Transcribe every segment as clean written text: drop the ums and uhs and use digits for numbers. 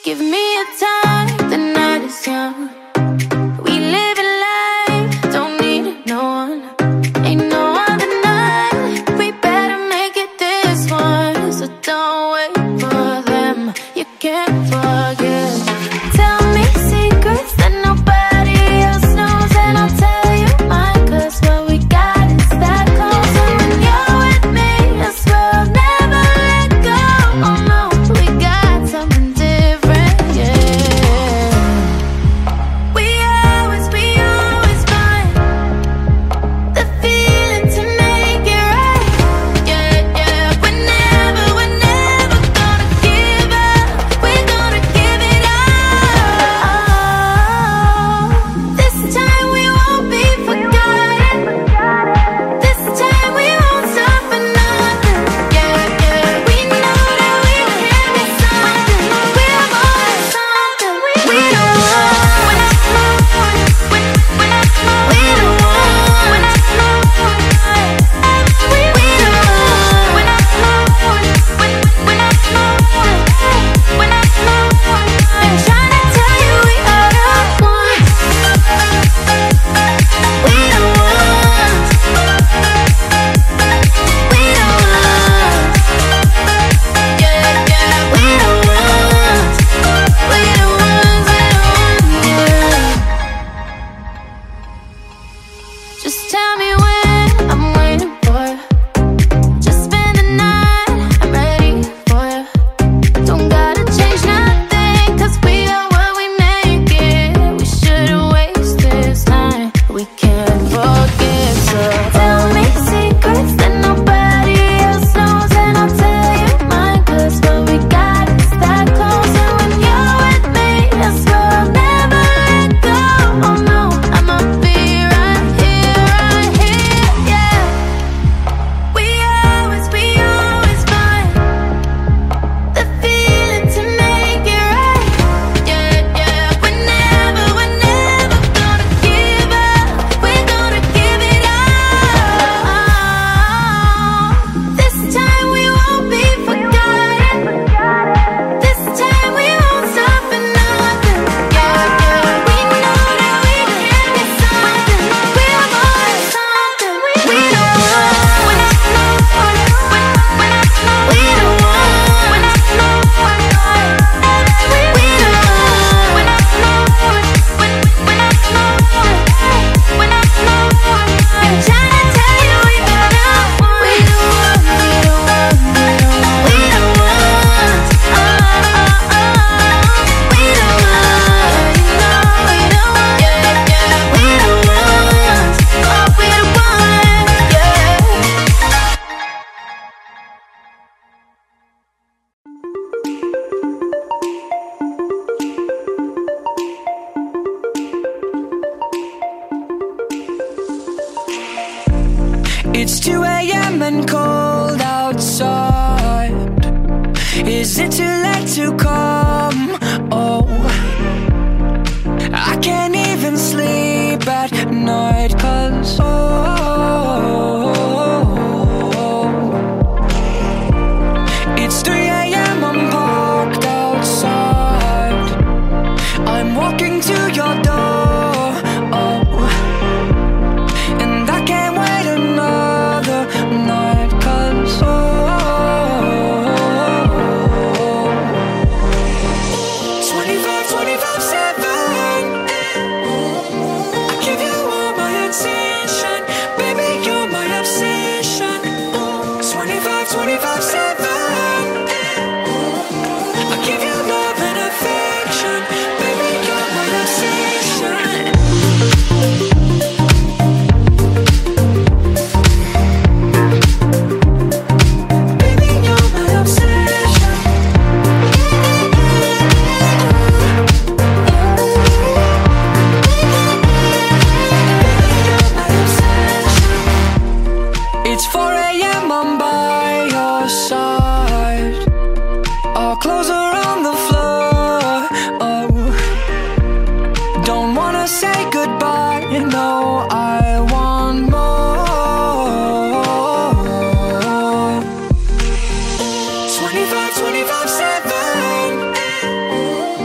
Give me a time, the night is young. We live in life, don't need no one. Ain't no other night, we better make it this one. So don't wait for them, you can't forget. Tell me secrets that nobody else knows, and I'll tell you mine, 'cause what we got is that close. And when you're with me, I swear I'll never let go. Oh no, we got something different, yeah. We always find the feeling to make it right, yeah, yeah. We're never gonna give up. We're gonna give it all. This time we won't be forgotten. This time we won't stop for nothing, yeah, yeah. We know that we can be something. We're more than something. We don't want. We don't want. I'm trying to tell you we are the ones. We don't want. We don't want. Yeah, yeah. We don't want. We the ones. Yeah. Just tell me when, I'm waiting for you. Just spend the night, I'm ready for you. Don't gotta change nothing, 'cause we are what we make it. We shouldn't waste this time, we can't forget. So tell me secrets that nobody else knows, and I'll tell you mine, 'cause what we got is that close. And when you're with me, I swear I'll never let go. Oh no, I'ma be right here, yeah. We always find the feeling to make it right, yeah, yeah. We're never gonna give up. We're gonna give it all. This time we won't be forgotten. This time we won't stop for nothing, yeah, yeah. We know that we can be something. We're more than something. We don't want. We don't want. We don't want. I'm trying to tell you we are the ones. We don't want. We don't want. We don't want. You know we don't want. Yeah, yeah. We don't want. Oh, we don't want. Yeah. It's 2 a.m. and cold outside. Is it too late to come? Oh, I can't even sleep at night, 'cause it's 3 a.m. I'm parked outside. I'm walking to your door, and I can't wait another night, 'cause 24/7, I give you all my attention. Baby, you're my obsession. 24/7, I give you love and affection. Baby, you're my obsession. Baby, you're my obsession. It's 4 a.m. I'm by your side. Our clothes are on the floor. Oh, don't wanna say goodbye. No, I want more. 25/7.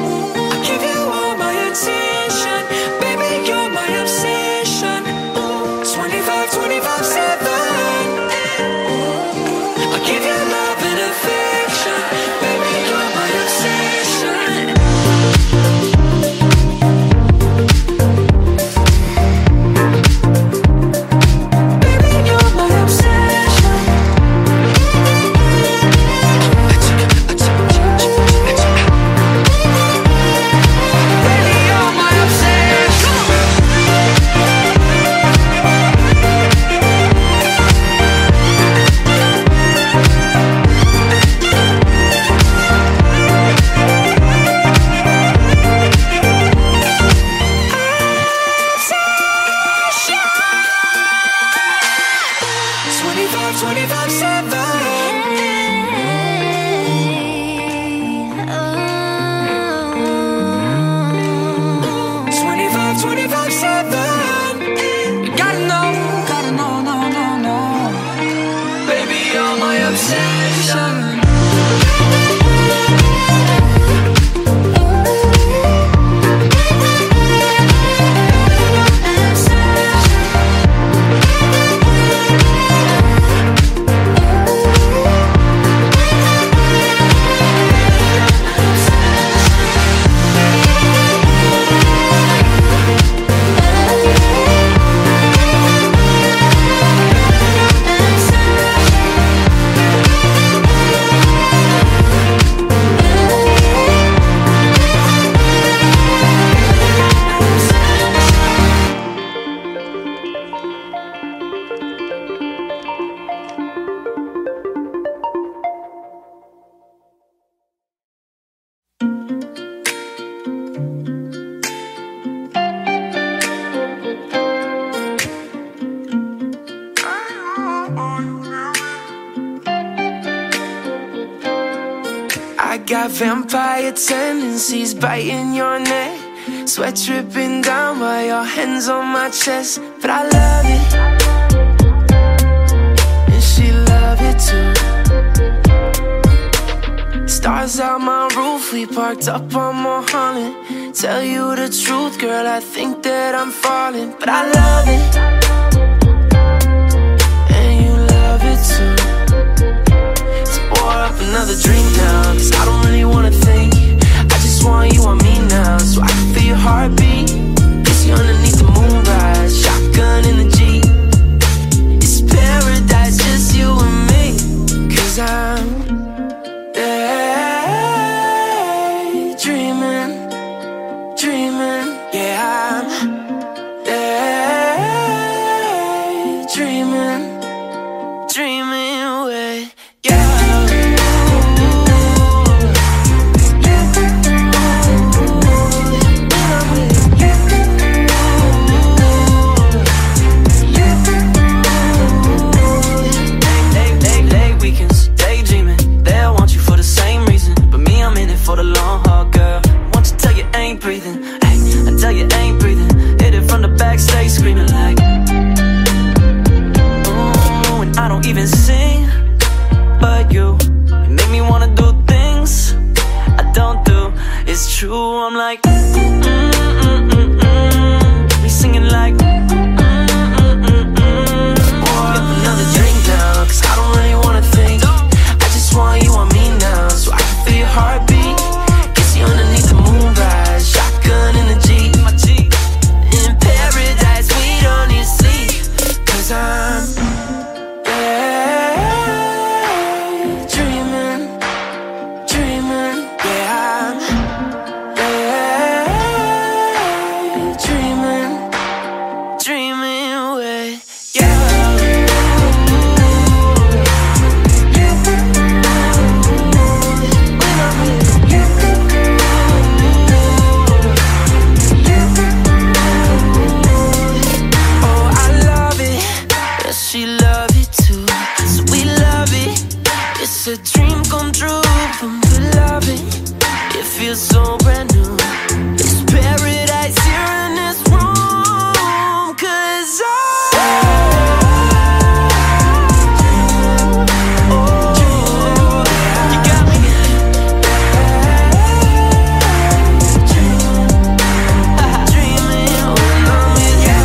got vampire tendencies, biting your neck, sweat dripping down while your hands on my chest. But I love it, and she love it too. Stars out my roof, we parked up on Mulholland. Tell you the truth, girl, I think that I'm falling. But I love it, and you love it too. So pour up another drink now, cause I don't really wanna think. I just want you on me now, so I can feel your heartbeat. Kiss you underneath the moonrise, shotgun in the Jeep. It's paradise, just you and me. Cause I'm daydreaming, dreaming, yeah, I'm daydreaming, dreaming away, yeah. For the long haul, girl. Won't you tell you ain't breathing? Hey, I tell you ain't breathing. Hit it from the backstage, screaming like, ooh, and I don't even sing, but you make me wanna do things I don't do. It's true, I'm like, we singing like, pour up another drink now, cause I don't really wanna think. I just want you on me now, so I can feel your heartbeat. Underneath the moonrise, shotgun in the Jeep. In paradise, we don't need sleep. Cause I'm daydreaming, dreaming, yeah, I'm daydreaming, dreaming away, yeah. She love it too, so we love it. It's a dream come true from the loving. It feels so brand new. It's paradise here in this room. Cause you got me. Dreaming when I'm with you.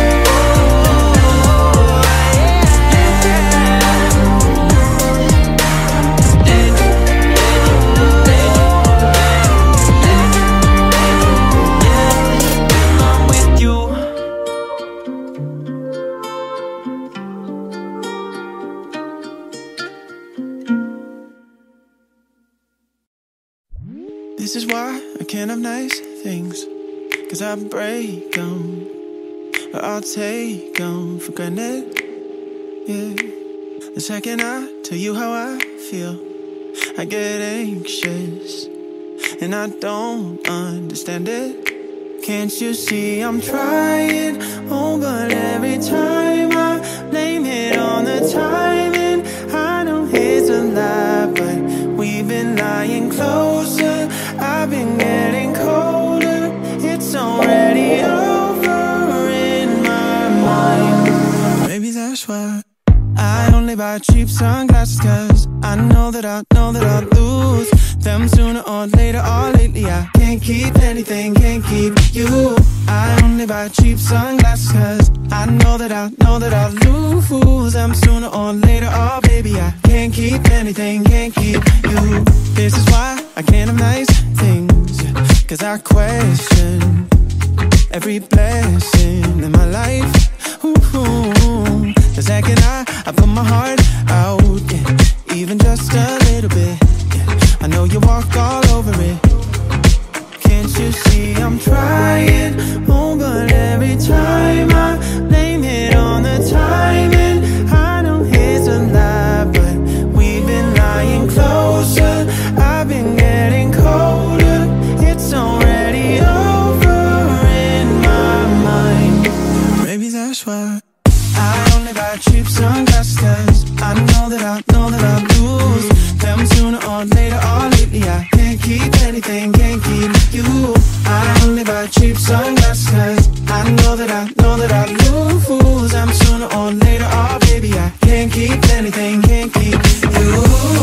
This is why I can't have nice things, cause I break them, or I'll take them for granted, yeah. The second I tell you how I feel, I get anxious, and I don't understand it. Can't you see I'm trying, oh, but every time I blame it on the timing. I know it's a lie, but we've been lying closer. I've been getting colder. It's already over in my mind. Maybe that's why I only buy cheap sunglasses, cause I know that I'll lose them sooner or later. Or lately I can't keep anything, can't keep you. I only buy cheap sunglasses, cause I know that I'll lose them sooner or later. Oh baby, I can't keep anything, can't keep you. This is why I can't have nice things, cause I question every blessing in my life. Ooh, the second I put my heart out, yeah, even just a little bit, yeah, I know you walk all over it. Can't you see I'm trying, oh, but every time I blame it on the timing. I know it's a lie, but we've been lying closer. I've been getting colder. It's already over in my mind. Maybe that's keep anything, can't keep you. I only buy cheap sunglasses. I know that I lose. I'm sooner or later, oh baby, I can't keep anything, can't keep you.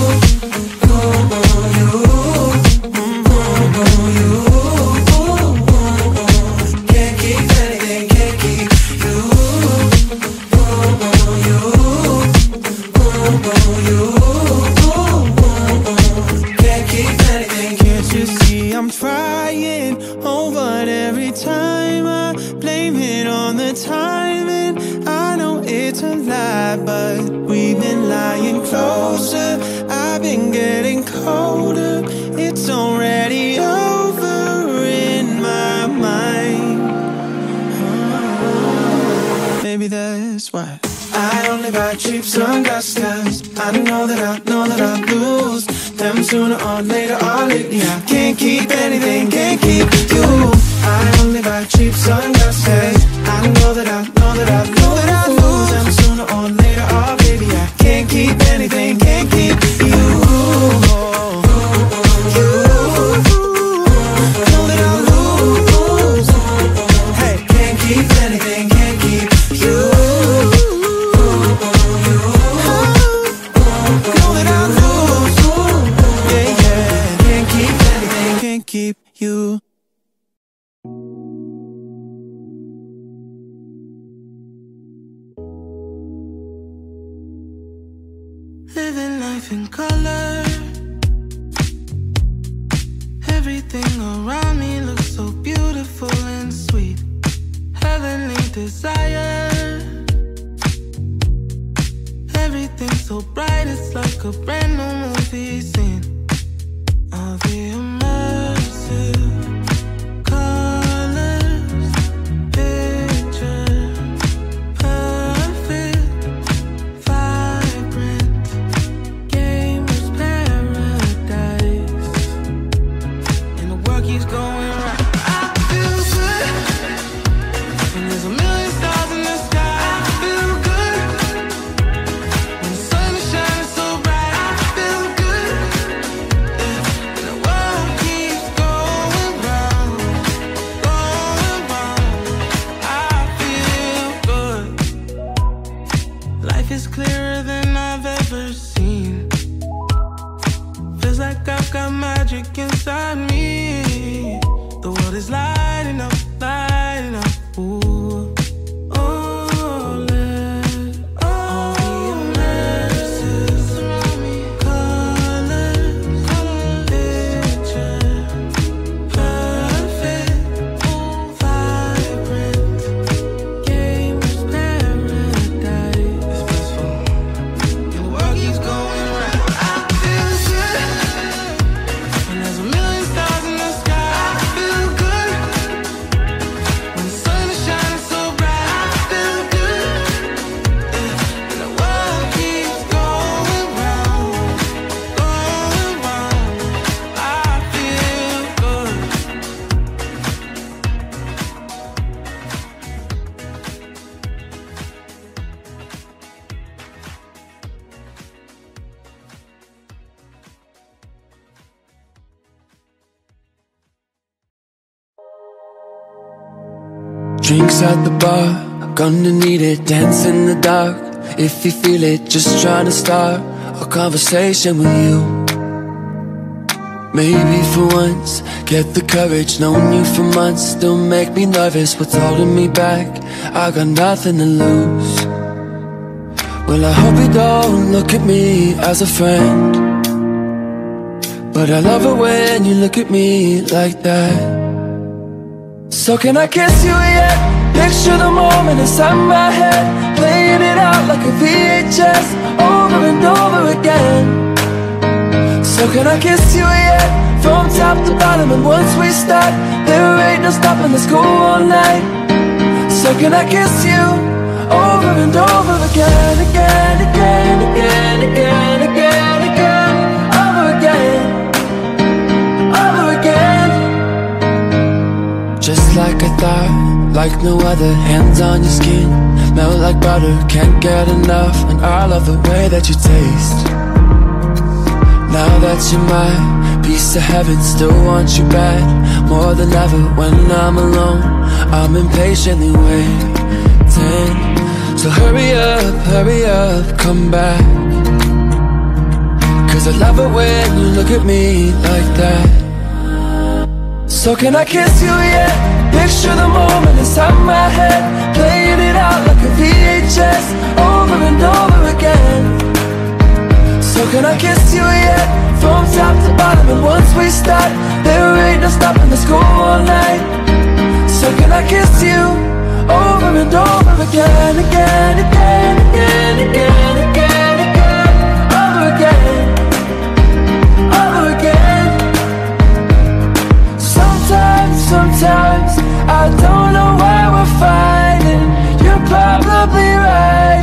Can't keep anything, can't keep you. Can't keep anything. Can't you see I'm trying? Oh, but every time I blame it on the timing. I know it's a lie, but we've been lying closer. I've been getting colder. It's already over in my mind. Maybe that's why I only buy cheap sunglasses. I know that I lose them sooner or later, or lately I can't keep anything, can't keep you. I only buy cheap sunglasses. I know that I lose them sooner or later, or baby I can't keep anything, can't keep you. Know that I lose. Hey, can't keep anything, can't keep you. Keep you. Living life in color. Everything around me looks so beautiful and sweet. Heavenly desire. Everything so bright, it's like a brand new movie scene. All the immersive colors, picture perfect, vibrant, gamer's paradise, and the world keeps going right. I feel good when there's a million stars in the sky. I feel good when the sun is shining so bright. I feel good. Is clearer than I've ever seen. Feels like I've got magic inside me. The world is lighting up, lighting up. Ooh. Oh, let all the immersive colors, picture perfect, vibrant, gamer's paradise. Drinks at the bar, gonna need it. Dance in the dark, if you feel it. Just trying to start a conversation with you. Maybe for once, get the courage. Known you for months, still make me nervous. What's holding me back? I got nothing to lose. Well, I hope you don't look at me as a friend, but I love it when you look at me like that. So can I kiss you yet? Picture the moment inside my head, playing it out like a VHS, over and over again. So can I kiss you yet? From top to bottom, and once we start, there ain't no stopping, let's go all night. So can I kiss you over and over again, again, again, again, again, again, again, over again, over again. Just like I thought, like no other. Hands on your skin, melt like butter. Can't get enough, and I love the way that you taste. Now that you're my piece of heaven, still want you back more than ever. When I'm alone, I'm impatiently waiting. So hurry up, come back. 'Cause I love it when you look at me like that. So can I kiss you yet? Picture the moment inside my head, playing it out like a VHS, over and over again. So can I kiss you yet? From top to bottom, and once we start, there ain't no stopping, let's go all night. So can I kiss you over and over again, again, again, again, again, again, again, over again, over again. Sometimes I don't know why we're fighting. You're probably right.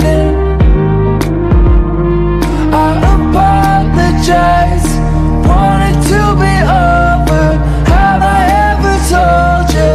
I apologize, want it to be over. Have I ever told you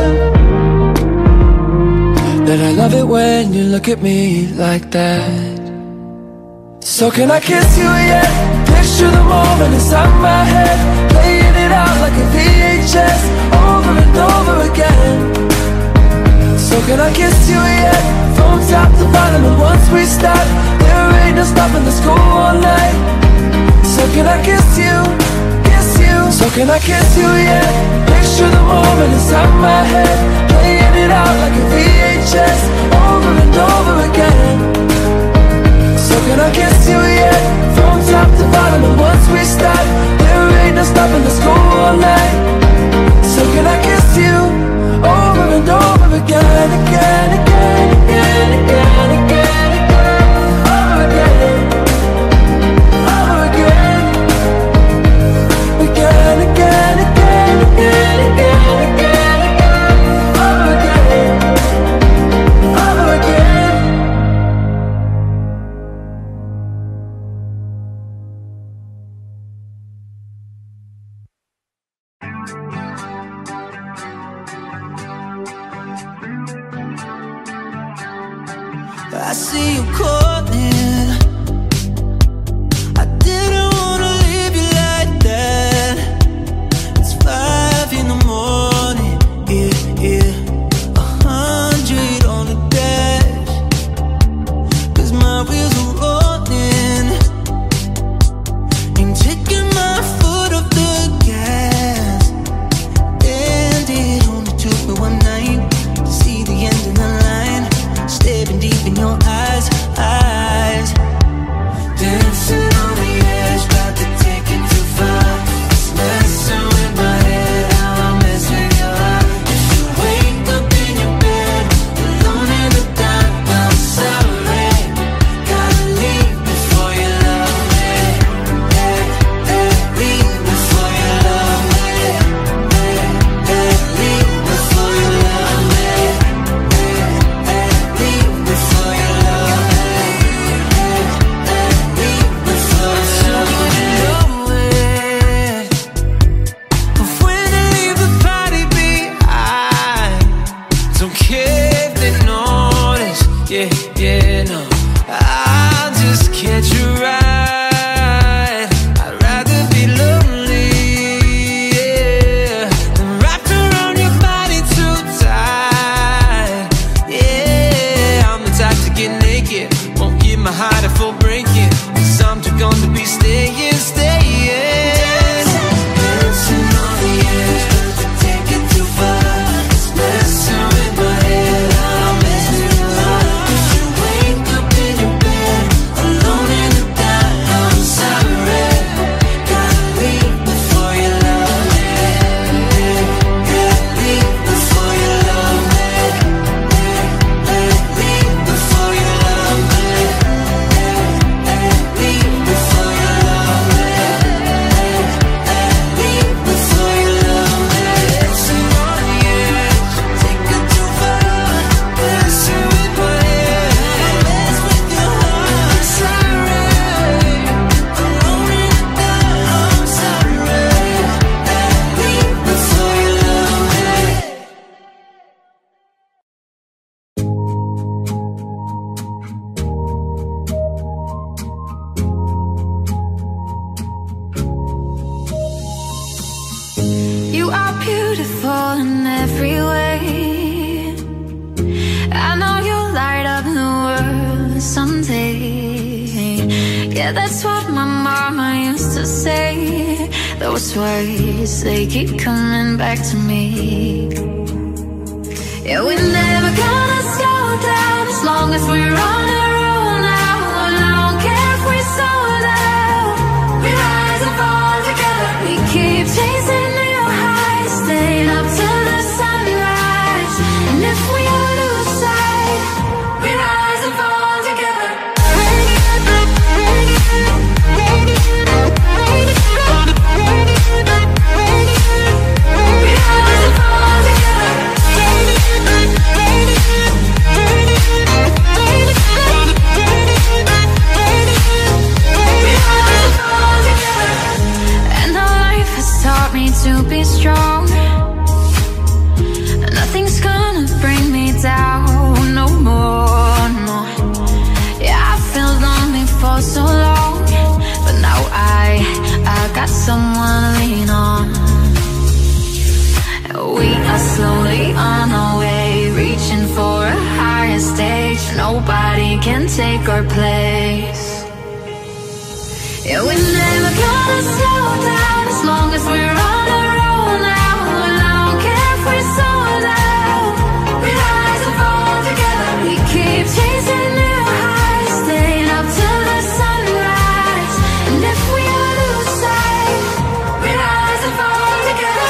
that I love it when you look at me like that? So can I kiss you yet? Picture the moment inside my head, playing it out like a VHS, over and over again. So can I kiss you yet? From top to bottom, and once we start, there ain't no stopping, let's go all night. So can I kiss you, kiss you? So can I kiss you yet? Picture the moment inside my head, playing it out like a VHS, over and over again. So can I kiss you yet? From top to bottom, and once we start, there ain't no stopping, let's go all night. So can I kiss you over and over again, again, again, again, again, again, again, over again, over again, again, again, again, again, again, again, again, over again, over again. I see you calling. I didn't wanna leave you like that. It's 5 in the morning, yeah, 100 on the dash. 'Cause my wheels are rolling, ain't taking my foot off the gas. And it only took me one night to see the end of the line. Staring deep in your eyes, are beautiful in every way. I know you'll light up the world someday. Yeah, that's what my mama used to say. Those words, they keep coming back to me. Yeah, we're never gonna slow down as long as we're on a roll now. And I don't care if we're sold out. We rise and fall together. We keep chasing new highs, staying up till the sunrise. And if we all lose sight, we rise and fall together. To be strong, nothing's gonna bring me down no more, no. Yeah, I felt lonely for so long, but now I got someone to lean on. We are slowly on our way, reaching for a higher stage. Nobody can take our place. Yeah, we're never gonna slow down as long as we're on a roll now. And I don't care if we're sold out. We rise and fall together. We keep chasing new highs, staying up till the sunrise. And if we all lose sight, we rise and fall together.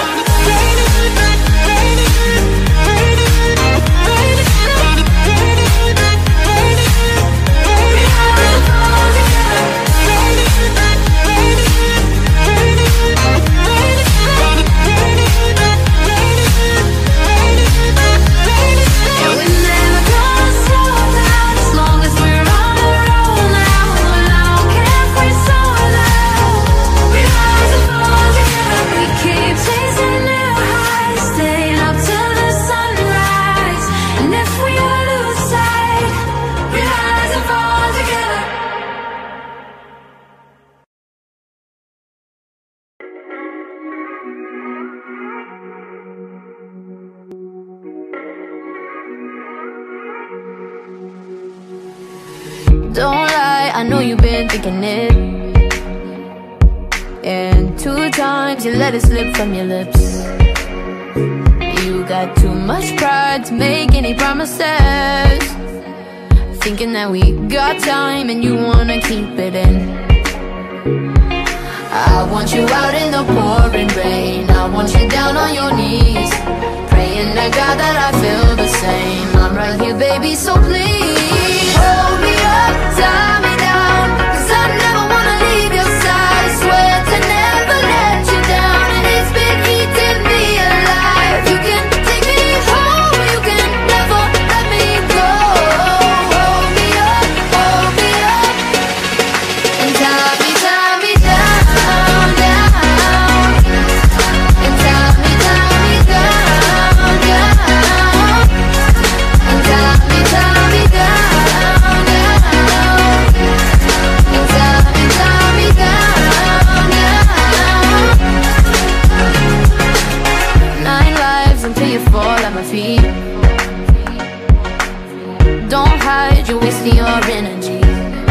Don't lie, I know you've been thinking it. And 2 times you let it slip from your lips. You got too much pride to make any promises, thinking that we got time and you wanna keep it in. I want you out in the pouring rain. I want you down on your knees, praying to God that I feel the same. I'm right here, baby, so please hold me up, tie me down, 'cause I never wanna leave your side. I swear to never let you down, and it's been eating me alive. You can take me home, you can never let me go. Hold me up, and tie me down, down. And tie me down, down. And tie me down, down. And tie me down, down. 9 lives until you fall at my feet. Don't hide, you're wasting your energy.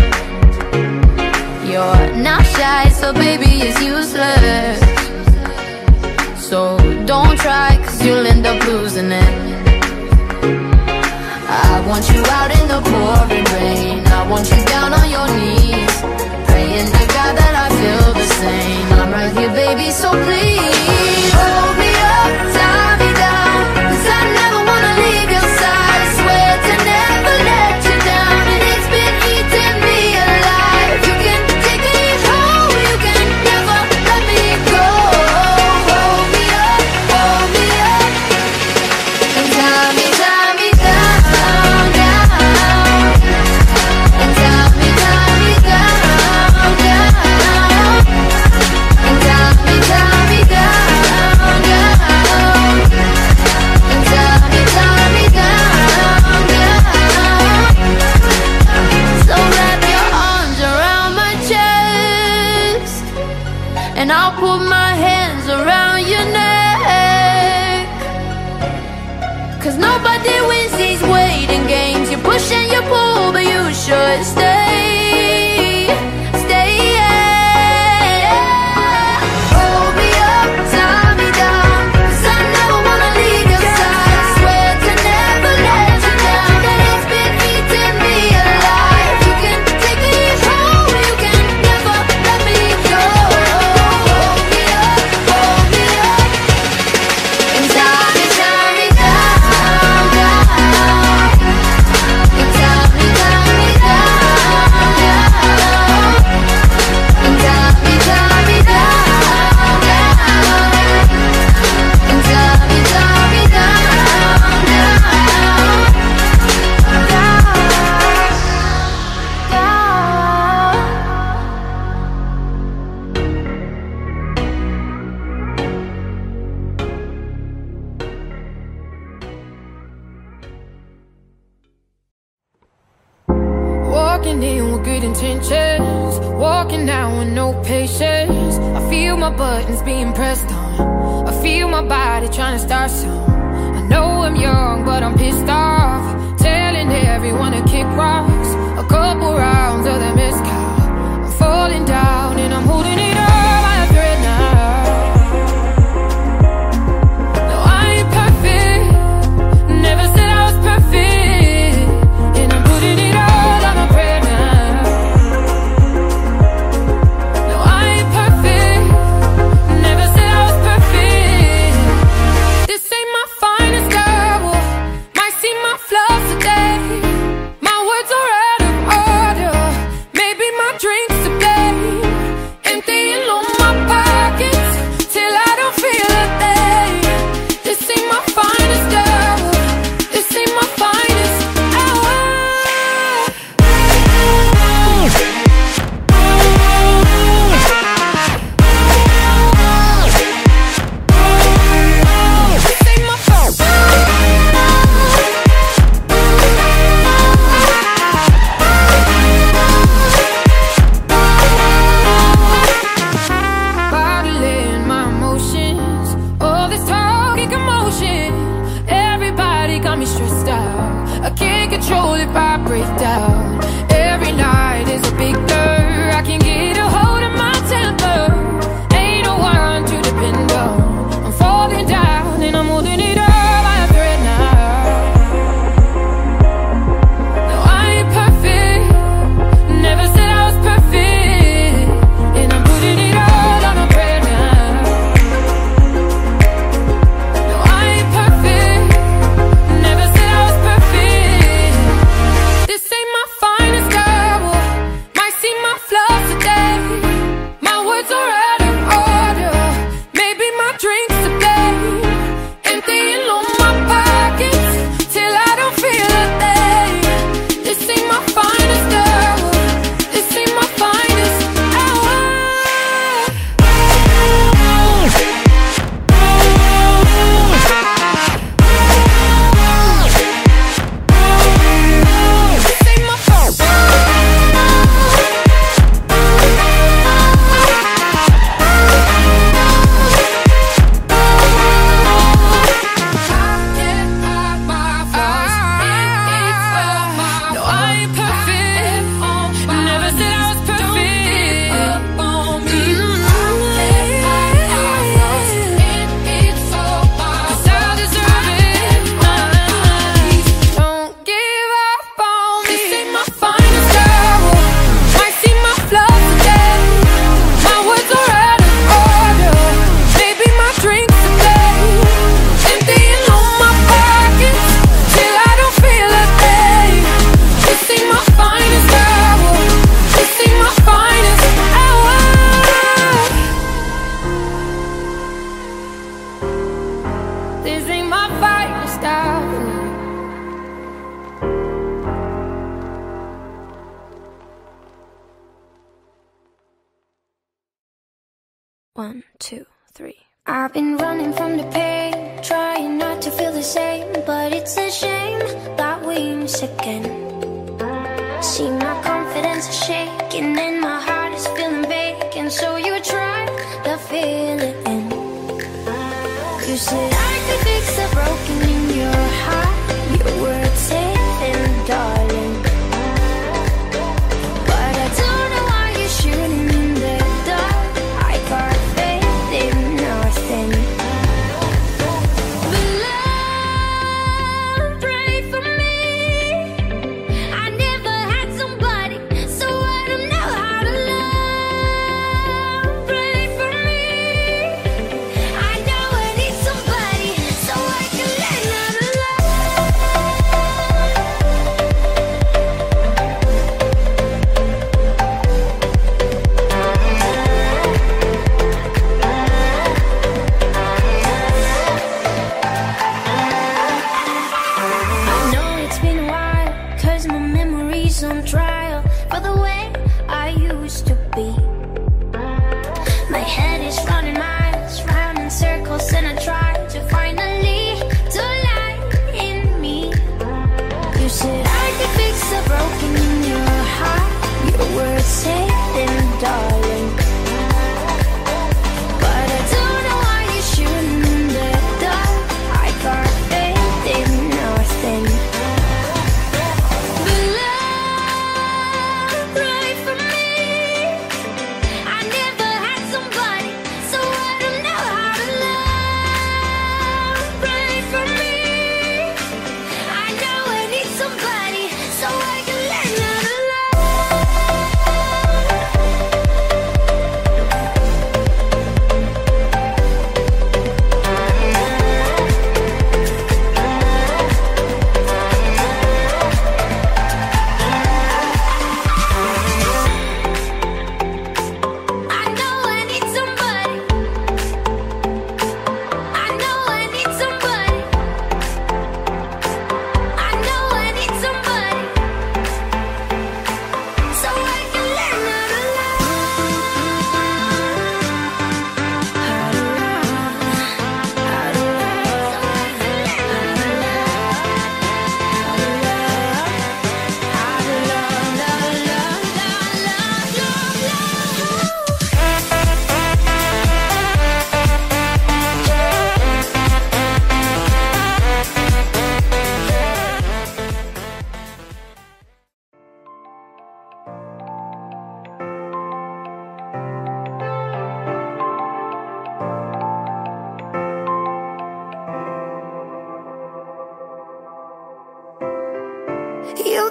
You're not shy, so baby, it's useless. So don't try, 'cause you'll end up losing it. I want you out in the pouring rain. I want you down on your knees, praying to God that I feel the same. I'm right here, baby, so please hold me up, tie me down, 'cause I never wanna leave your side. I swear to never let you down, and it's been eating me alive. You can take me home, you can never let me go. Hold me up, and tie me down, down. And tie me down, down. And tie me down. Walking in with good intentions, walking out with no patience. I feel my buttons being pressed on, I feel my body trying to start some. I know I'm young, but I'm pissed off, telling everyone to kick rocks. A couple rounds of the mezcal, I'm falling down and I'm holding it up by a thread now. No, I ain't perfect, never said I was perfect, and I'm putting it all on a prayer now. No, I ain't perfect, never said I was perfect. This ain't my finest hour, might see my flaws today. My words are out of order, maybe my drinks to blame. Emptying all my pockets till I don't feel a thing. This ain't my finest hour, this ain't my finest hour. This ain't my finest bottling my emotions, all this talking commotion. Everybody got me stressed out, I can't control if I break down. Every night is a big blur, I can get a hold of my temper. Ain't no one to depend on, I'm falling down and I'm holding it up by a thread now. No, I ain't perfect, never said I was perfect, and I'm putting it all on a prayer now. No, I ain't perfect, never said I was perfect. This ain't my finest hour, might see my flaws today. My words are out of order, maybe my drinks to blame. Emptying all my pockets till I don't feel a thing. This ain't my finest hour, this ain't my finest hour. This ain't my finest no, I ain't perfect, never said I was perfect. Cause I deserve it. Don't give up on me. This ain't my finest hour, might see my flaws today. My words are out of order, maybe my drinks to blame. Emptying all my pockets till I don't feel a thing. This ain't my finest hour, this ain't my finest hour. This ain't my finest hour. One, two, three. I've been running from the pain, trying not to feel the same, but it's a shame that we miss again. See, my confidence is shaking and my heart is feeling vacant, so you try to fill it in. You said I could fix the broken in your heart, your words safe and darling, but I don't know why you're shooting in the dark. I got faith in nothing. But love, pray for me. I never had somebody, so I don't know how to love. Pray for me. I know I need somebody, so I can learn how to love.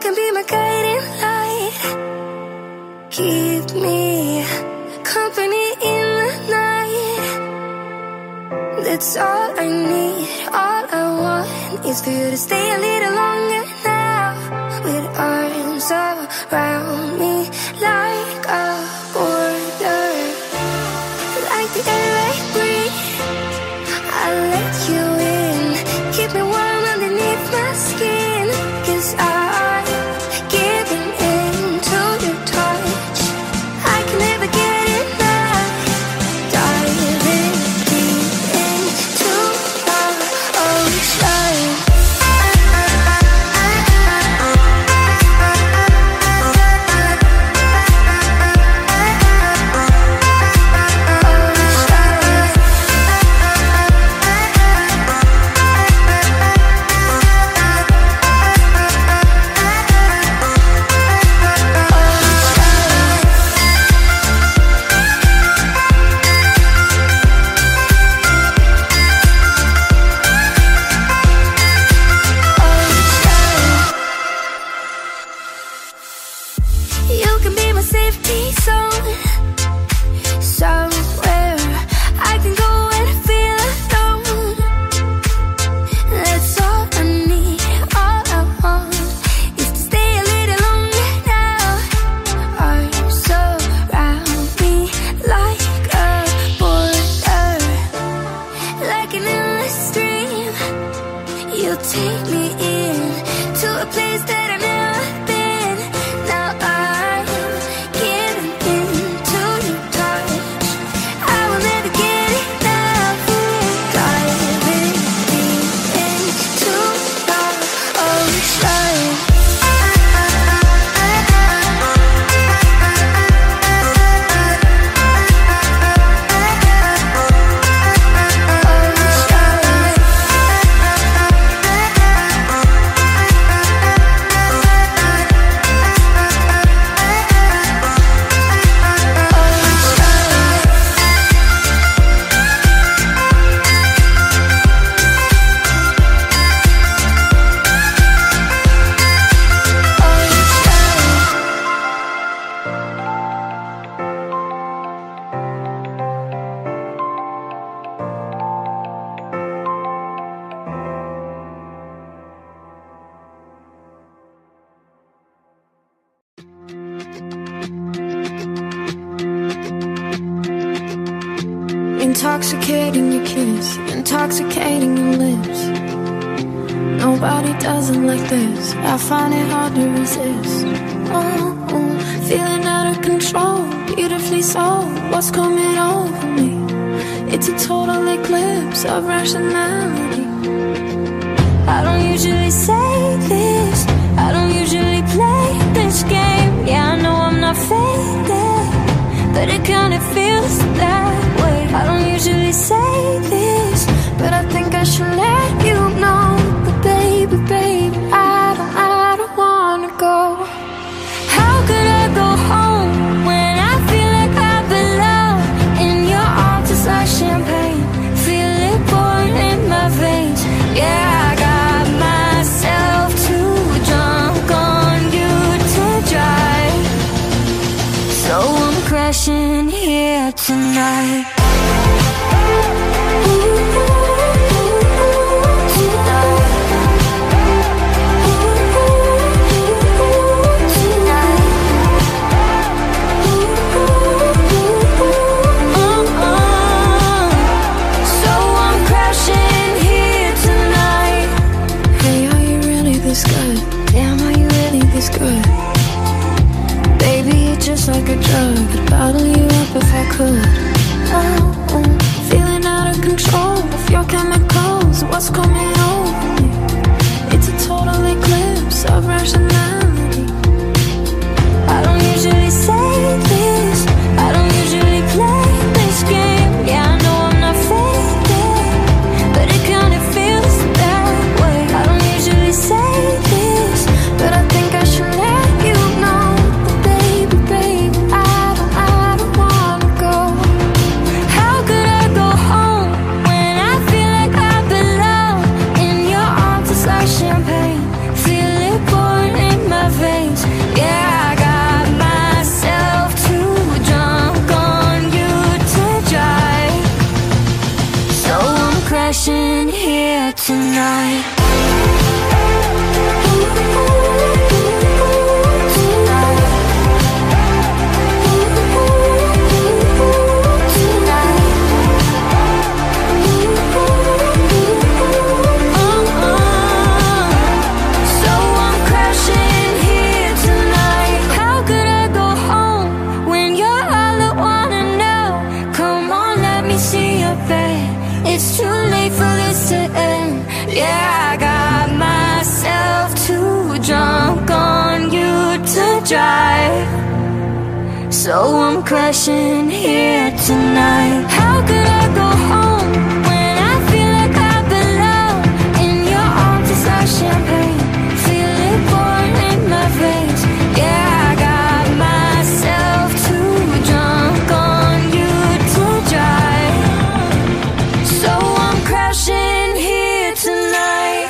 can be my guiding light. Keep me company in the night. That's all I need. All I want is for you to stay a little longer now, with arms around me like a border, like the air I breathe. I'll let you in, keep me warm underneath my skin, 'cause I'm giving in to your touch. I can never get enough, diving deep into our ocean. You can be my safety zone, somewhere I can go and feel alone. That's all I need, all I want is to stay a little longer now. Arms around me like a border, like an endless stream. You take me in to a place that I've never been. Now I'm giving into your touch. I will never get enough, diving deep into our ocean. Intoxicating your kiss, intoxicating your lips. Nobody does it like this. I find it hard to resist. Oh, feeling out of control, beautifully so. What's coming over me? It's a total eclipse of rationality. I don't usually say this, I don't usually play this game. Yeah, I know I'm not faded, but it kinda feels that way. I don't usually say this, but I think I should let you know. But baby, baby, I don't wanna go. How could I go home when I feel like I belong in your arms? Just like champagne, feel it pouring in my veins. Yeah, I got myself too drunk on you to drive, so I'm crashing here tonight. Good. Baby, you're just like a drug. I'd bottle you up if I could. Oh, feeling out of control of your chemicals. What's coming over me? It's a total eclipse of rationality. I don't usually say this, I don't usually play this game. Yeah, I know I'm not faded, but it kinda feels that way. I don't usually say this, but I think I should let you know. But baby, baby, I don't wanna go. How crashing here tonight. So I'm crashing here tonight. How could I go home when I feel like I belong in your arms? It's like champagne, feel it pouring in my veins. Yeah, I got myself too drunk on you to drive. So I'm crashing here tonight.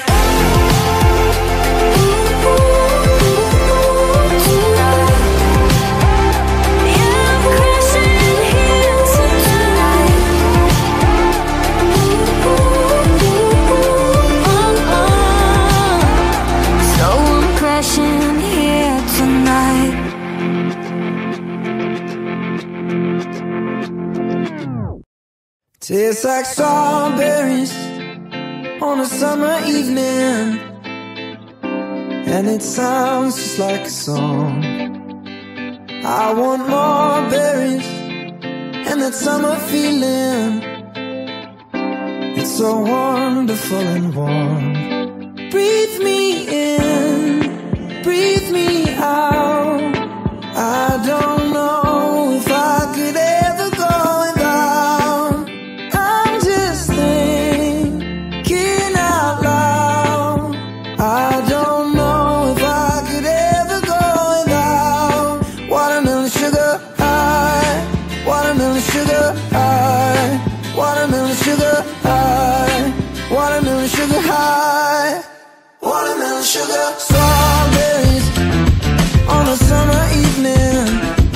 Tastes like strawberries on a summer evening, and it sounds just like a song. I want more berries and that summer feeling. It's so wonderful and warm. Breathe me in, breathe me out. I don't know if I could ever go without. I'm just thinking out loud. I don't know if I could ever go without watermelon sugar high, watermelon sugar high, watermelon sugar high, watermelon sugar high, watermelon sugar. Strawberries on a summer evening.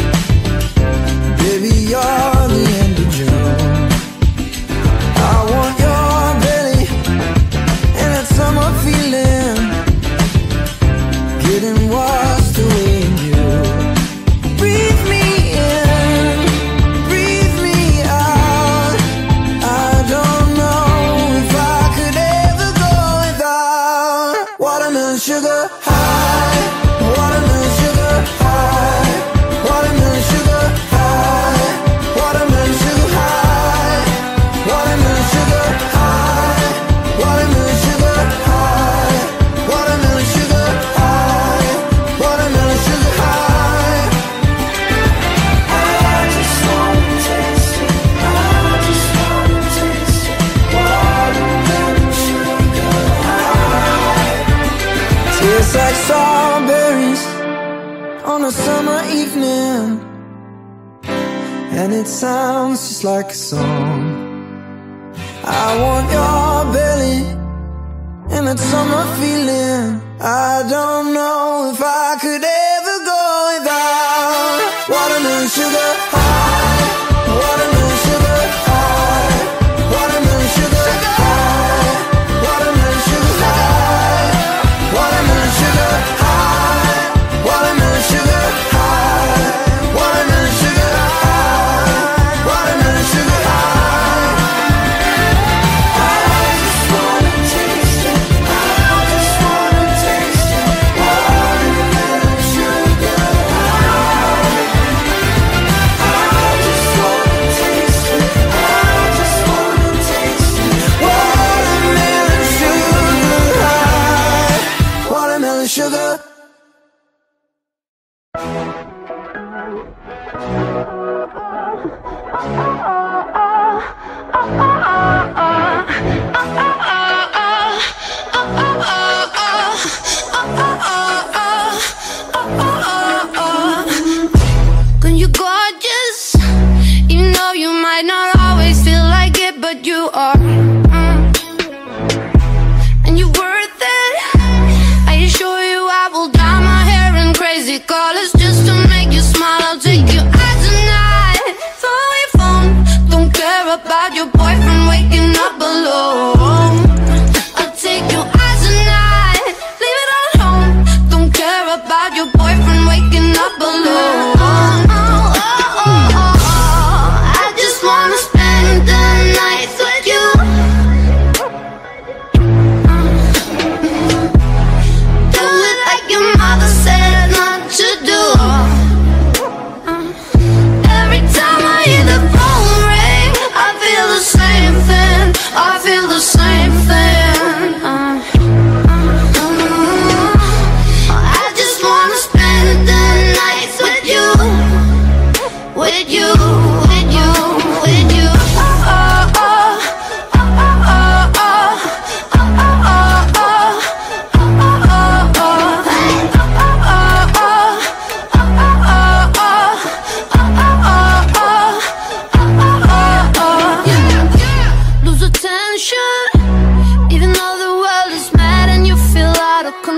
Baby, you're the end of June. I want your belly and that summer feeling, getting washed away in you. Breathe me in, breathe me out. I don't know if I could ever go without watermelon sugar high, watermelon sugar high, watermelon sugar high, watermelon sugar high, watermelon sugar high, watermelon sugar high, watermelon sugar high, watermelon sugar high. I just wanna taste it, I just wanna taste it, watermelon sugar high. Tastes like strawberries on a summer evening, and it sounds just like a song. I want your belly and that summer feeling. I don't know if I could ever go without watermelon sugar high, watermelon sugar high, watermelon sugar high, watermelon sugar high, watermelon sugar high, watermelon sugar high, watermelon sugar high, watermelon sugar high. I just wanna taste it, I just wanna taste it,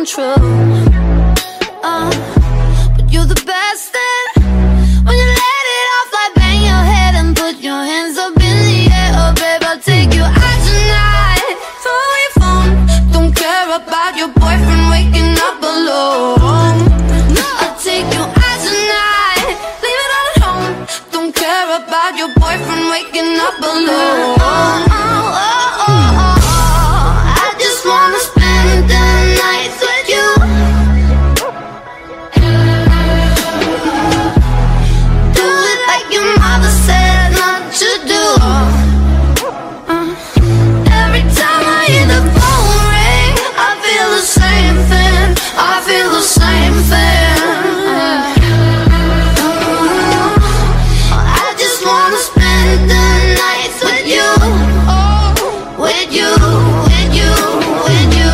come true. But you're the best thing when you let it off like bang your head and put your hands up in the air. Oh babe, I'll take you out tonight. Throw your phone, don't care about your boyfriend waking up alone. I'll take you out tonight, leave it all at home. Don't care about your boyfriend waking up alone. I just wanna spend the nights with you. Do it like your mother said not to do. Every time I hear the phone ring, I feel the same thing. I feel the same thing. I just wanna spend the nights with you, with you, with you, with you.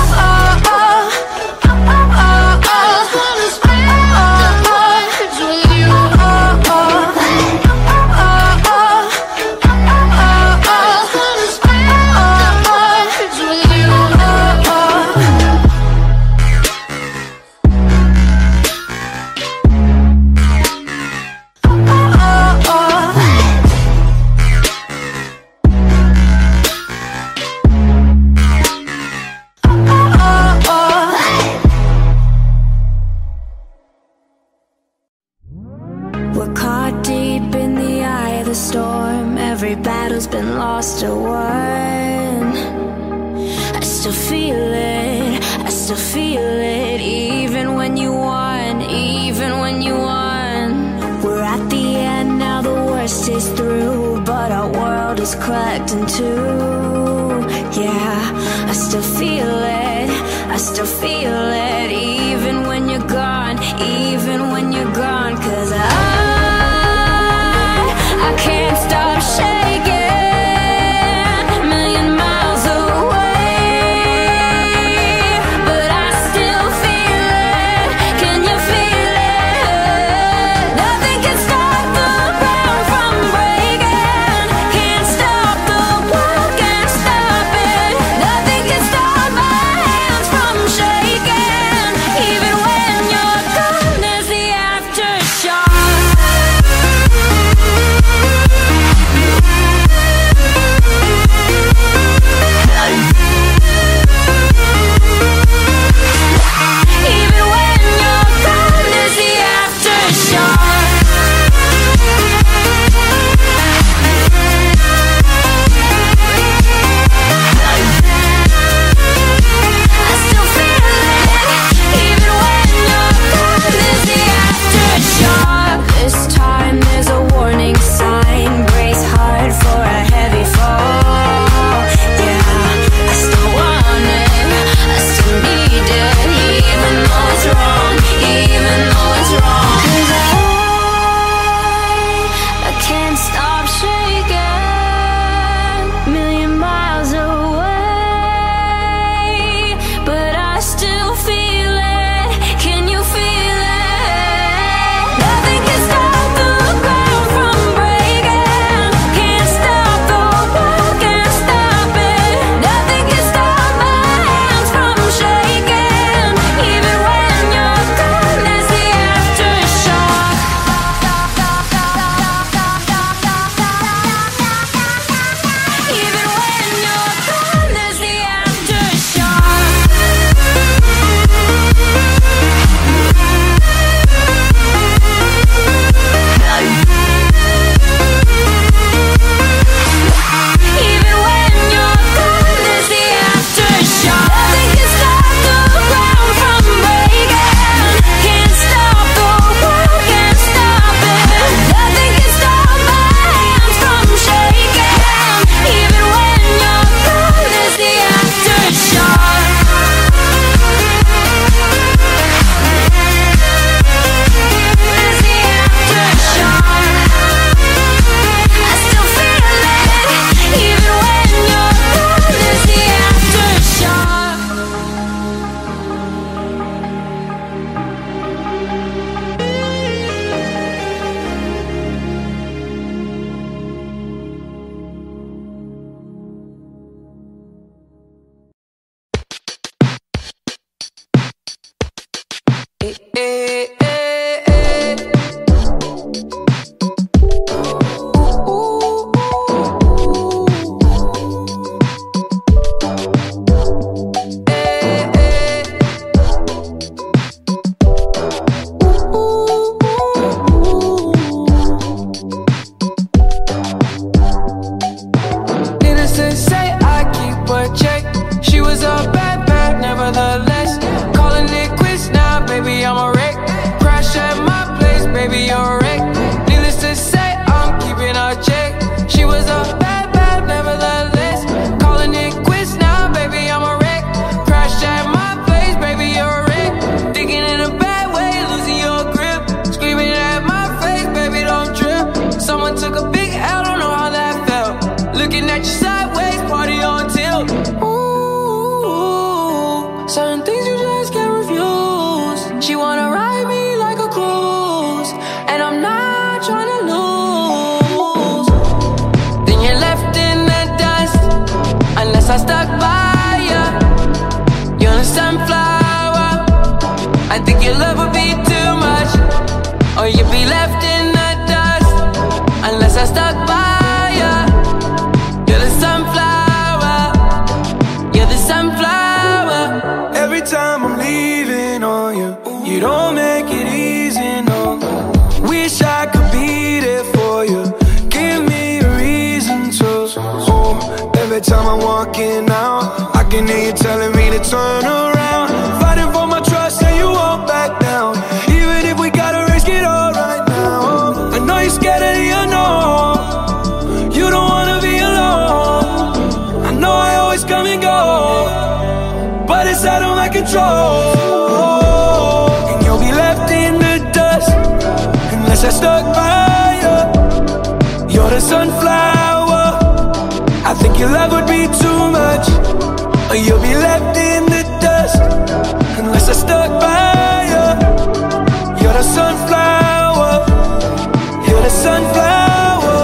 We're caught deep in the eye of the storm. Every battle's been lost or won. I still feel it, I still feel it. Even when you won, even when you won. We're at the end now, the worst is through. But our world is cracked in two. Yeah, I still feel it, I still feel it. Even when you're gone, even when you're gone. 'Cause I can't stop shaking, a million miles away. But I still feel it, can you feel it? Nothing can stop the ground from breaking. Can't stop the world, can't stop it. Nothing can stop my hands from shaking. Needless to say, I keep a check. She was a bad, bad, nevertheless. Calling it quits now, baby, I'm a wreck. Crash at my place, baby, you're a wreck. Needless to say, I'm keeping a check. She was a bad, bad, nevertheless. Calling it quits now, baby, I'm a wreck. Crash at my place, baby, you're a wreck. Thinking in a bad way, losing your grip. Screaming at my face, baby, don't trip. Someone took a big L, don't know how that felt. Looking at you sideways, party on tilt. Ooh, certain things you just can't refuse. She wanna ride me like a cruise, and I'm not trying to lose. Then you're left in the dust, unless I stuck by ya. You're a sunflower. I think your love would be too much, or you'd be left in the dust, unless I stuck by ya. You're the sunflower. You're the sunflower. Every time I'm leaving on you, you don't make it easy, no. Wish I could be there for you. Give me a reason to. Oh, every time I'm walking out, I can hear you telling me to turn around. Fighting for my trust and you won't back down. Even if we gotta risk it all right now. I know you're scared of the unknown. You don't wanna be alone. I know I always come and go, but it's out of my control. And you'll be left in the dust, unless I stuck by you. You're the sunflower. I think your love would be too much, or you'll be left in the dust, unless I stuck by you. You're the sunflower. You're the sunflower.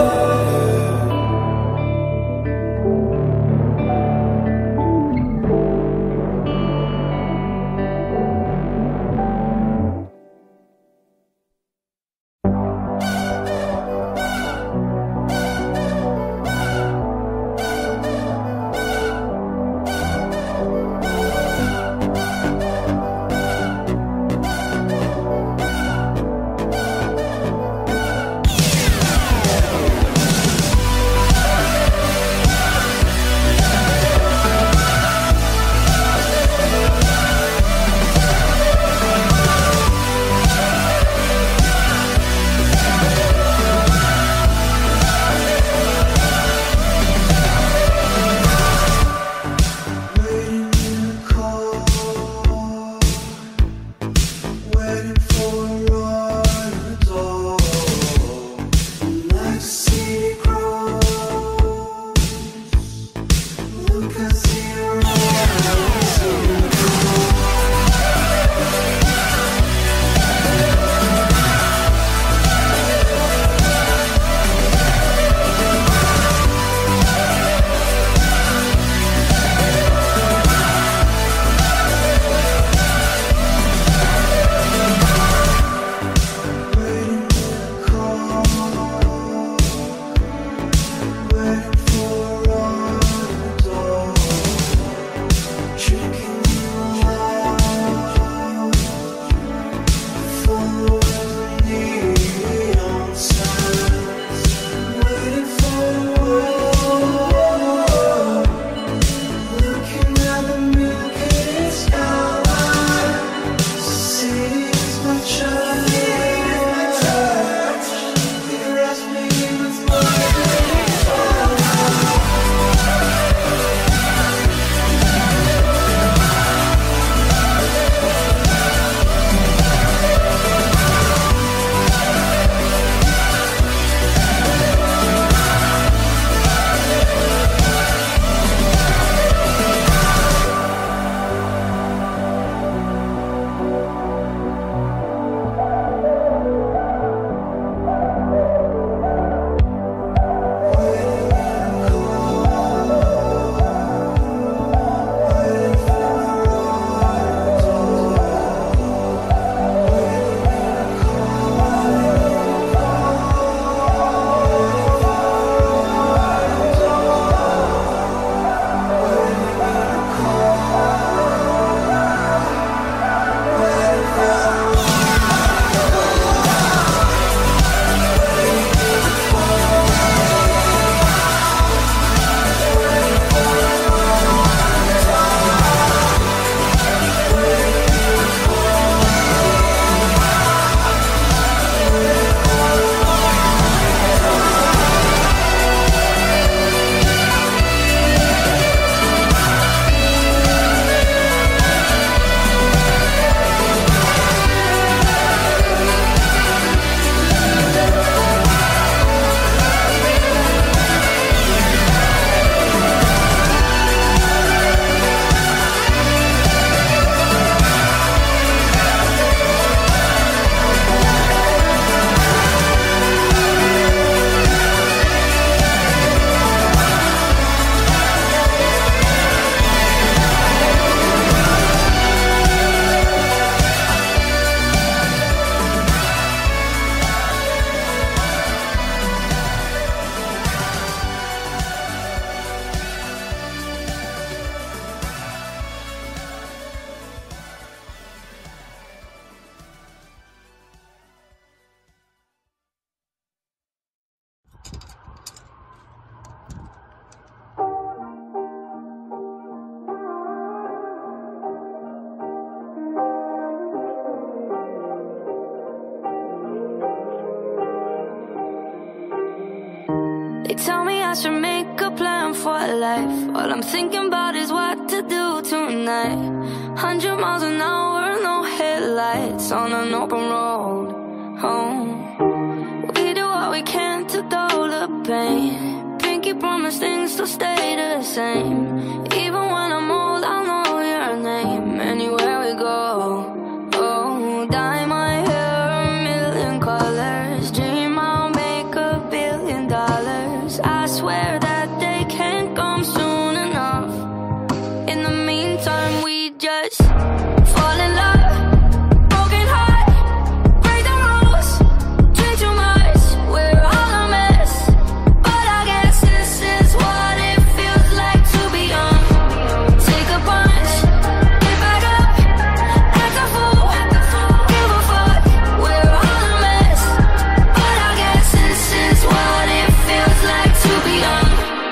tell me I should make a plan for life. All I'm thinking about is what to do tonight. 100 miles an hour, no headlights on an open road. Oh, we do what we can to dull the pain. Pinky promise things to stay the same. Even when I'm old, I'll know your name anywhere we go. Oh, dye my hair a million colors. Dream I'll make $1 billion. I swear that they can't come soon enough. In the meantime, we just fall in love. Broken heart, break the rules. Drink too much, we're all a mess. But I guess this is what it feels like to be young. Take a punch, get back up, act a fool, give a fuck. We're all a mess. But I guess this is what it feels like to be young.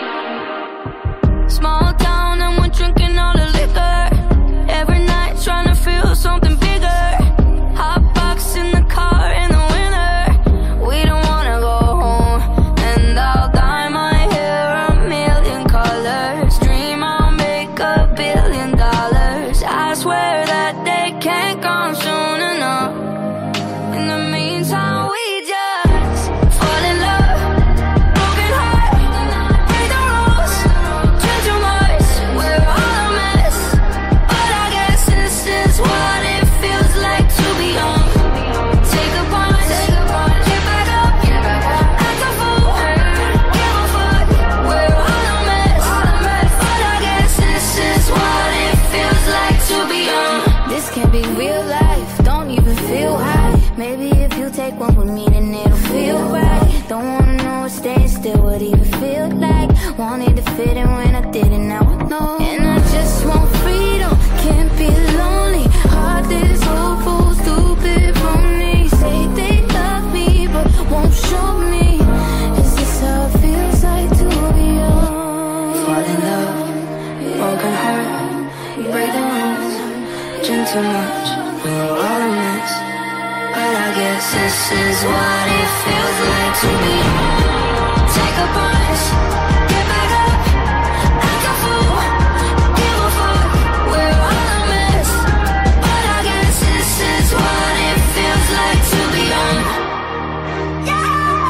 Small town and we're drinking all the liquor. Every night trying to feel something bigger. Hot box in the car in the winter. We don't wanna go home. And I'll dye my hair a million colors. Dream I'll make $1 billion. I swear that they can't come soon enough. In the meantime, we just fall in love. Broken heart, break the rules. Drink too much, we're all a mess. But I guess this is what it feels like to be young. Take a punch, get back up, act a fool, give a fuck. We're all a mess. But I guess this is what it feels like to be young. This can't be real life, don't even feel high. Maybe if you take one with me, then it'll feel right. Don't wanna know what staying still would even feel like. Wanted to fit in when I didn't, now I know. And I just want freedom, can't be lonely. Heart is hopeful, stupid from me. Say they love me, but won't show me. Is this how it feels like to be young? Fall in love, broken heart, break the rules. Drink too much, we're all a mess. But I guess this is what it feels like to be young. Take a punch, get back up, act a fool, give a fuck. We're all a mess. But I guess this is what it feels like to be young. Yeah,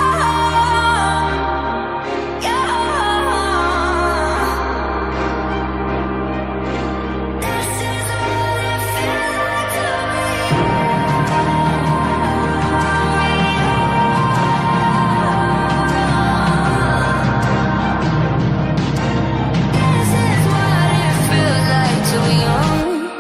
yeah. This is what it feels like to be This is what it feels like to be young.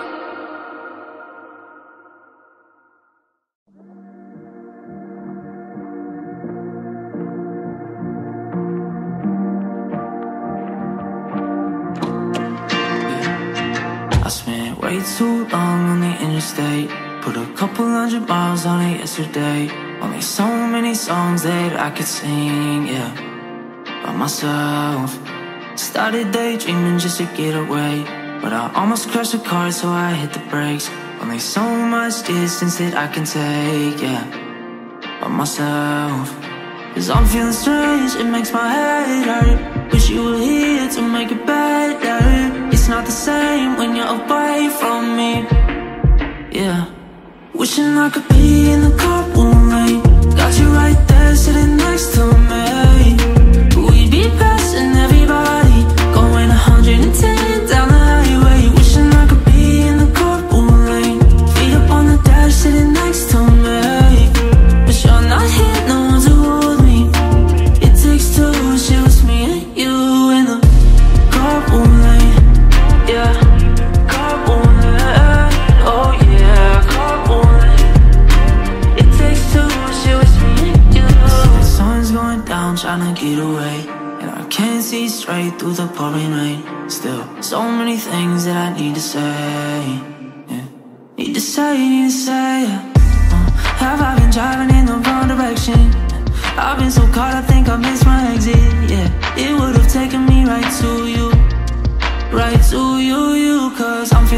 I spent way too long on the interstate. Put a couple 100 miles on it yesterday. Only so many songs that I could sing, yeah, by myself. Started daydreaming just to get away, but I almost crashed the car, so I hit the brakes. Only so much distance that I can take, yeah, by myself. Cause I'm feeling strange, it makes my head hurt. Wish you were here to make it better. It's not the same when you're away from me, yeah. Wishing I could be in the carpool lane. Got you right there sitting next to me. We'd be passing everybody, going 110 down the highway. Wishing I could be in the carpool lane. Feet up on the dash sitting next to me. But you're not here, no one to hold me. It takes two, it's just me and you in the carpool lane, yeah. Carpool lane, oh yeah, carpool lane. It takes two, it's just me and you. The sun's going down, trying to get away, and I can't see straight through the pouring rain. Still, so many things that I need to say, yeah. Need to say, yeah. Have I been driving in the wrong direction? I've been so caught, I think I missed my exit, yeah. It would've taken me right to you, you. Cause I'm feeling